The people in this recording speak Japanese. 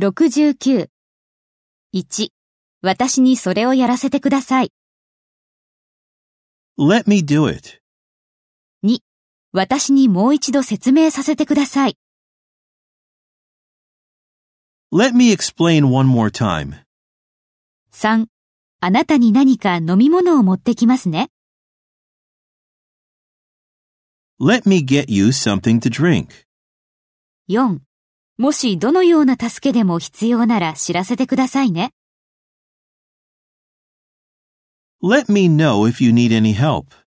69。1、私にそれをやらせてください。 Let me do it. 2、私にもう一度説明させてください。 Let me explain one more time. 3、あなたに何か飲み物を持ってきますね。 Let me get you something to drink. 4、もしどのような助けでも必要なら知らせてくださいね。 Let me know if you need any help.